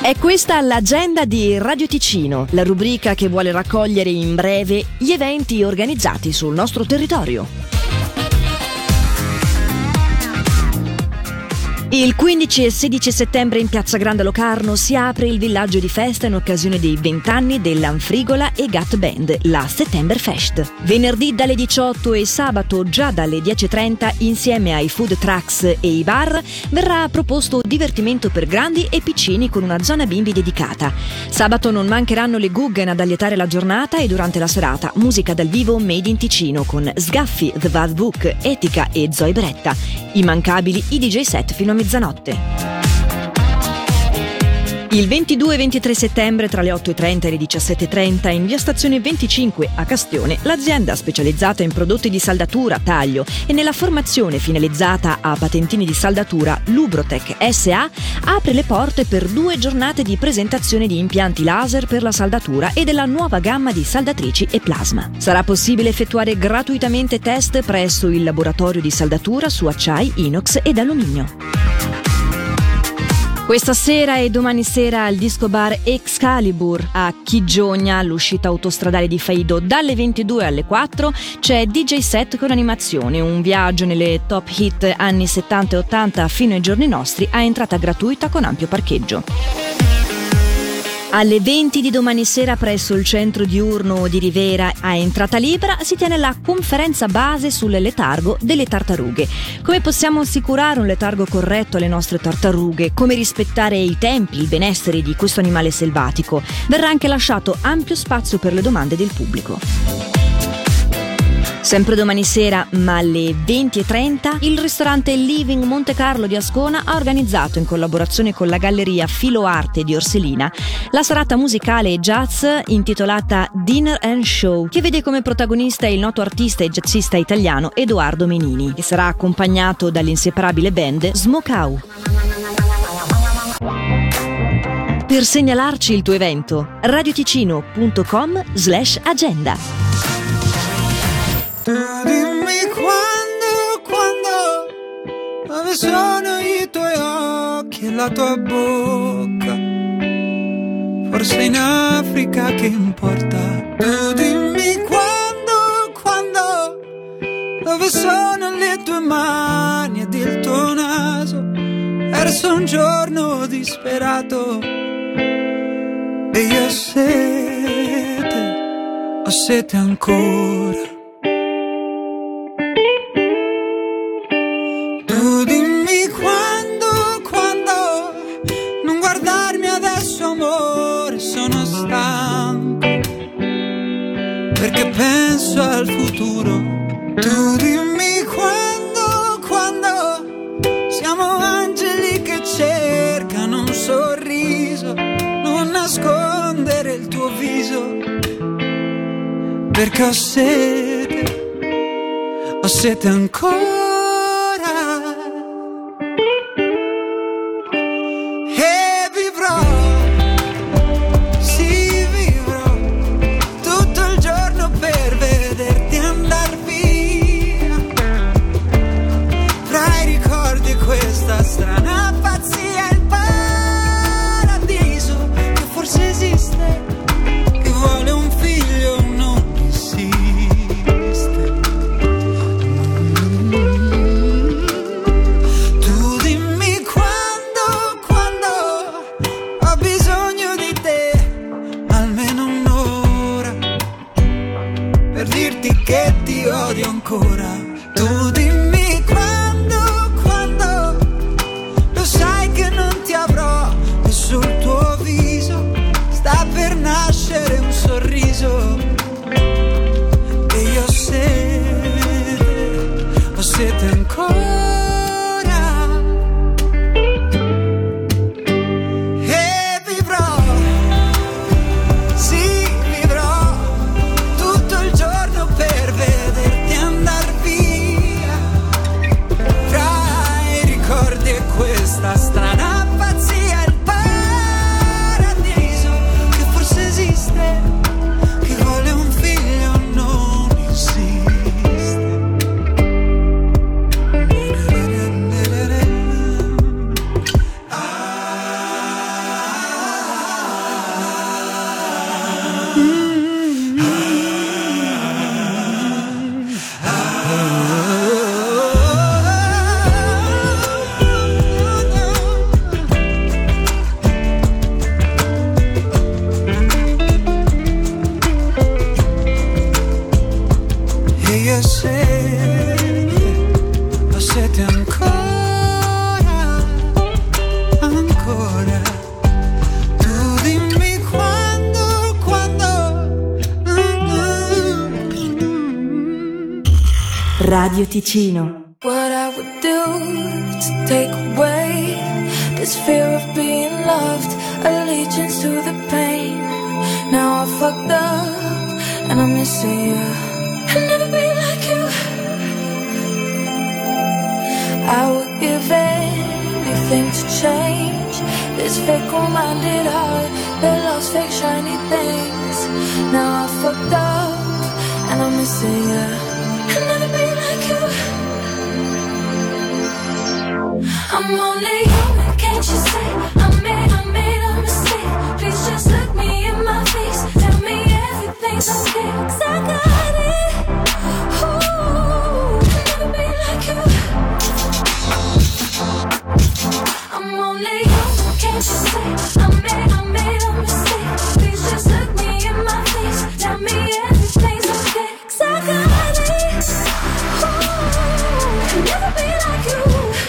È questa l'agenda di Radio Ticino, la rubrica che vuole raccogliere in breve gli eventi organizzati sul nostro territorio. Il 15 e 16 settembre in Piazza Grande Locarno si apre il villaggio di festa in occasione dei 20 anni dell'Anfrigola e Gat Band, la Settemberfest. Venerdì dalle 18 e sabato già dalle 10.30 insieme ai food trucks e i bar verrà proposto divertimento per grandi e piccini con una zona bimbi dedicata. Sabato non mancheranno le Guggen ad allietare la giornata e durante la serata musica dal vivo made in Ticino con Sgaffi, The Bad Book, Etica e Zoe Beretta. Immancabili i DJ set fino a mezzanotte. Il 22 e 23 settembre tra le 8.30 e le 17.30 in via Stazione 25 a Castione, l'azienda specializzata in prodotti di saldatura, taglio e nella formazione finalizzata a patentini di saldatura Lubrotec SA apre le porte per 2 giornate di presentazione di impianti laser per la saldatura e della nuova gamma di saldatrici e plasma. Sarà possibile effettuare gratuitamente test presso il laboratorio di saldatura su acciai, inox ed alluminio. Questa sera e domani sera al disco bar Excalibur a Chigiogna, all'uscita autostradale di Faido, dalle 22 alle 4 c'è DJ set con animazione, un viaggio nelle top hit anni 70 e 80 fino ai giorni nostri a entrata gratuita con ampio parcheggio. Alle 20 di domani sera presso il centro diurno di Rivera a entrata libera si tiene la conferenza base sul letargo delle tartarughe. Come possiamo assicurare un letargo corretto alle nostre tartarughe? Come rispettare i tempi, il benessere di questo animale selvatico? Verrà anche lasciato ampio spazio per le domande del pubblico. Sempre domani sera, ma alle 20.30, il ristorante Living Monte Carlo di Ascona ha organizzato, in collaborazione con la galleria Filo Arte di Orselina, la serata musicale e jazz intitolata Dinner and Show, che vede come protagonista il noto artista e jazzista italiano Edoardo Menini, che sarà accompagnato dall'inseparabile band Smokau. Per segnalarci il tuo evento, radioticino.com/agenda. Tu dimmi quando, dove sono i tuoi occhi e la tua bocca, forse in Africa che importa. Tu dimmi quando, dove sono le tue mani ed il tuo naso, verso un giorno disperato. E io ho sete ancora. Tu dimmi quando, non guardarmi adesso amore, sono stanco, perché penso al futuro. Tu dimmi quando, siamo angeli che cercano un sorriso, non nascondere il tuo viso, perché ho sete ancora. Strana pazzia, il paradiso che forse esiste, che vuole un figlio, non esiste. Tu dimmi quando ho bisogno di te, almeno un'ora, per dirti che ti odio ancora. Tu dimmi sul tuo viso sta per nascere un sorriso, e io ho sete ancora. E vivrò, sì vivrò tutto il giorno per vederti andar via, fra i ricordi e questa strana pazzia. Che vuole un figlio, non esiste. Radio Ticino. What I would do to take away this fear of being loved, allegiance to the pain. Now I fucked up and I'm missing you. I'll never be like you. I would give anything to change this fickle-minded heart that loves fake shiny things. Now I fucked up and I'm missing you. I'll never be like you. I'm only human, can't you see? I made a mistake. Please just look me in my face. Tell me everything's okay, 'cause I got it. Ooh, I'll never be like you. I'm only human, can't you see? I made a mistake. Please just look me in my face. Tell me everything's okay, 'cause I got it. Ooh, I'll never be like you.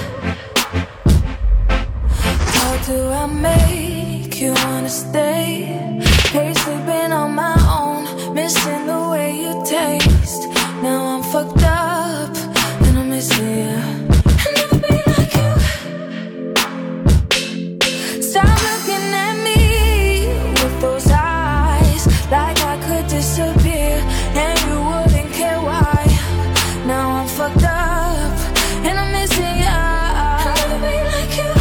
How do I make you wanna stay? Hate sleeping on my own, missing the way you taste. Now I'm fucked up and I'm missing you. I'll never be like you. Stop looking at me with those eyes, like I could disappear and you wouldn't care why. Now I'm fucked up and I'm missing you. I'll never be like you.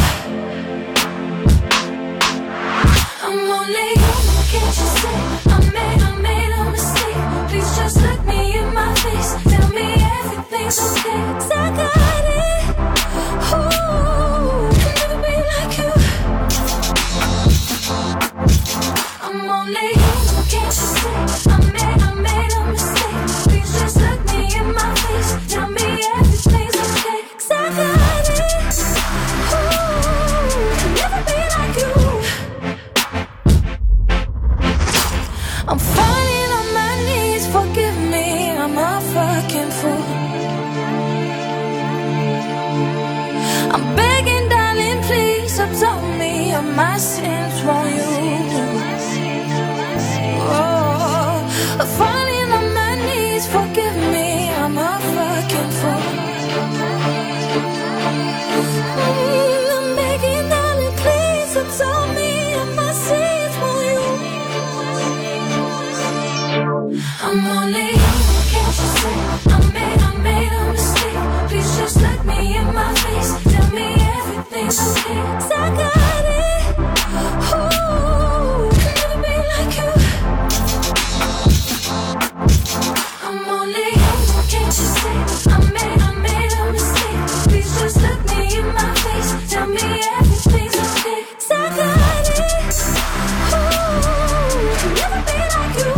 I'm only human, can't you see? I made a mistake. Please just look me in my face. Tell me everything's okay, 'cause I got it. Ooh, I'll never be like you. I'm only human, can't you see? I made a mistake. Please just look me in my face. Tell me everything's okay, 'cause I got it. Ooh, I'll never be like you. I'm falling on my knees, forgive me, I'm a fucking fool. I'm begging, darling, please absolve me of my sins from you. Oh, I'm falling on my knees, forgive me, I'm a fucking fool. I'm begging, darling, please absolve me of my sins from you. I'm only human, can't you see? I made a mistake. Please just look me in my face. Tell me everything's okay, 'cause I got it. Ooh, I'll never be like you. I'm only human, can't you see? I made a mistake. Please just look me in my face. Tell me everything's okay, 'cause I got it. Ooh, I'll never be like you.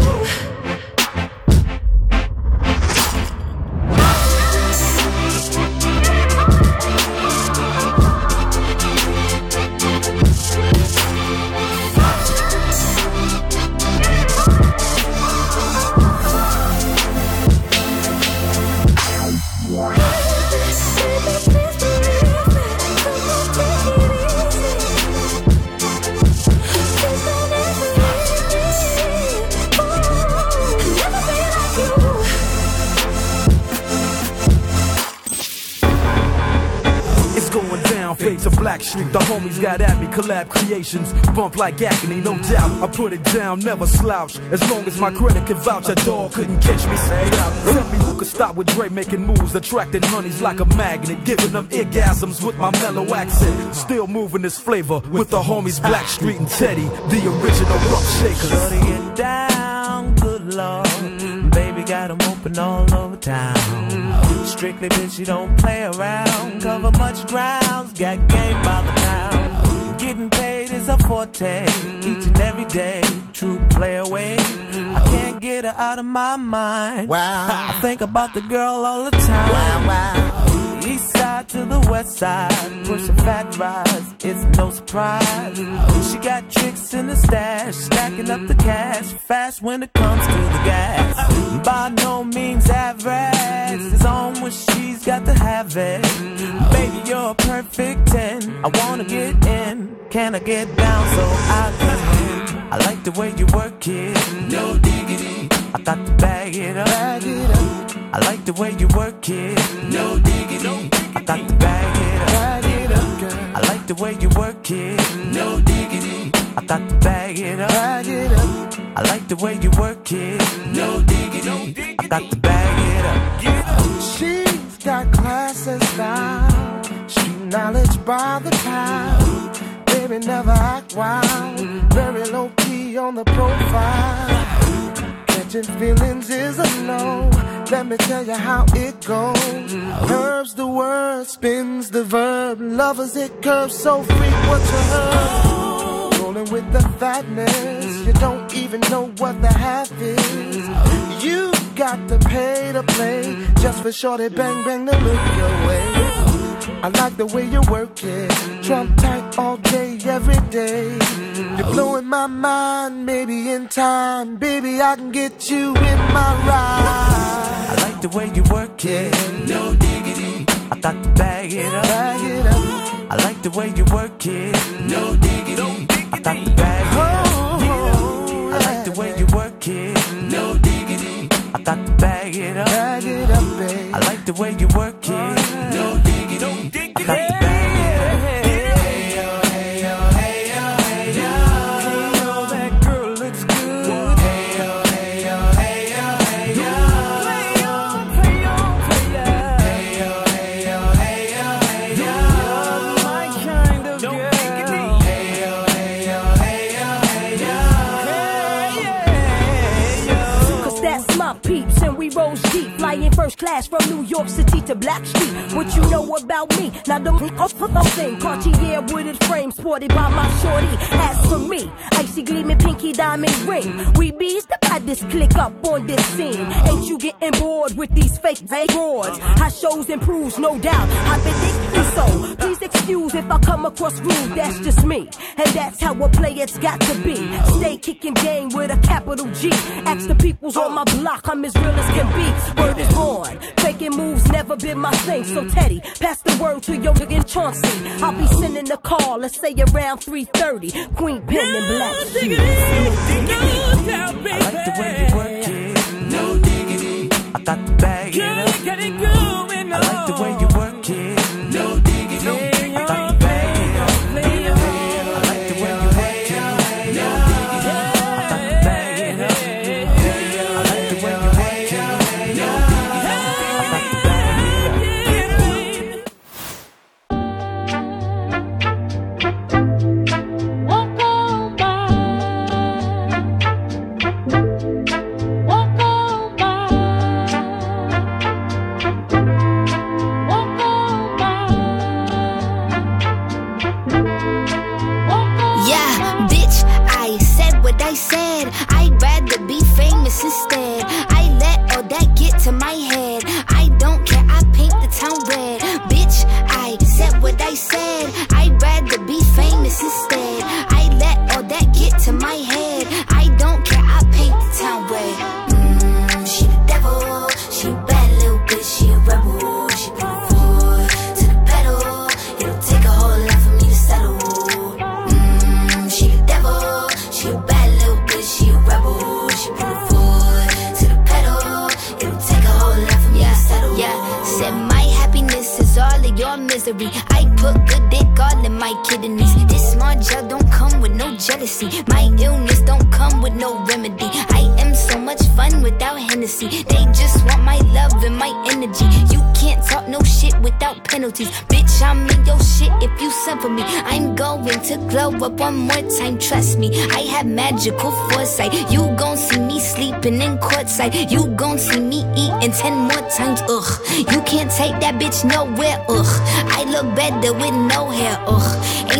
Fades of Blackstreet, the homies got at me, collab creations, bump like agony, no doubt. I put it down, never slouch. As long as my credit can vouch, a dog couldn't catch me. Say out. Tell me who could stop with Dre making moves, attracting honeys like a magnet, giving them orgasms with my mellow accent. Still moving this flavor with the homies Blackstreet and Teddy, the original rough shakers. Shutting it down, good lord. Baby got them open all over town. Strictly bitch, you don't play around. Cover much ground, got game by the pound. Getting paid is a forte, each and every day. True play away. I can't get her out of my mind. Wow. I think about the girl all the time. Wow, wow. East side to the west side, pushing fat rides, it's no surprise. She got tricks in the stash, stacking up the cash, fast when it comes to the gas. By no means average, it's on when she's got to have it. Baby, you're a perfect 10, I wanna get in, can I get down so I can? I like the way you work it, no diggity, I got to bag it up. I like the way you work it. No diggity. I got to bag it up. Bag it up, girl. I like the way you work it. No diggity. I got to bag it up. Bag it up. I like the way you work it. No diggity. I got to bag it up. She's got class and style. Street knowledge by the pound. Baby never act wild. Very low key on the profile. Catching feelings is a no. Let me tell you how it goes. Curves the word, spins the verb. Lovers it curves so freak what you heard. Rolling with the fatness. You don't even know what the half is. You got to pay to play. Just for shorty bang bang to look your way. I like the way you work it. Trump tight all day, every day. You're blowing my mind, maybe in time. Baby, I can get you in my ride. I like the way you work it. No diggity. I got to bag it up. Bag it up. I like the way you work it. No diggity. I got to bag it up. I like the way you work it. No diggity. I got to bag it up. Bag it up, babe. I like the way you work it. No diggity. I got to bag it up. Hey yo, hey yo, hey yo, hey yo. Hey yo, that girl looks good. Hey yo, hey yo, hey yo, hey yo. Play on, play on, play on. Hey yo, hey yo, hey yo, hey yo. You're my kind of girl. Hey yo, hey yo, hey yo, hey yo. Cause that's my peeps and we roll deep. Flying first class from New York City to Blackstreet. What you know about me? Now the thing Cartier wooded frame sported by my shorty. As for me, icy gleaming pinky diamond ring. We bees the baddest click up on this scene. Ain't you getting bored with these fake broads? How shows improves, no doubt. I've been thinking so. Please excuse if I come across rude. That's just me, and that's how a player's got to be. Stay kicking game with a capital G. Ask the peoples on my block, I'm as real as can be. Word is born. Faking moves never been my thing. So Teddy, pass the word to your nigga Chauncey. I'll be sending a call, let's say around 3:30. Queen Pen and Black Shoes. I like the way you work it. No diggity. I got to bag it up. I like the way you work it. No diggity. I got to bag it up. I like the way you work it. No diggity. I got to bag it up. I like the way you work it. No diggity. I got to bag it up. Yeah, bitch, I said what I said. I'd rather be famous instead. I let all that get to my head. I don't care, I paint the town red. Bitch, I said what I said. I'd rather be famous instead. I let all that get to my head. I don't care, I paint the town red. She the devil, she a bad little bitch, she a rebel. She put her foot to the pedal. It'll take a whole lot for me to settle. She the devil, she a bad little bitch, she a rebel. She put her foot to the pedal. It'll take a whole lot for me to settle. Yeah, said my happiness is all of your misery. I put good dick all in my kidneys. This small gel don't come with no jealousy. My illness don't come with no remedy. I am so much fun without Hennessy. They just want my love and my energy. You can't talk no shit without penalties. Bitch, I'm in your shit if you send for me. I'm going to glow up one more time, trust me. I have magical foresight. You gon' see me sleeping in courtside. You gon' see me eating 10 more times, ugh. You can't take that bitch nowhere, ugh. I look better with no hair, ugh. Ain't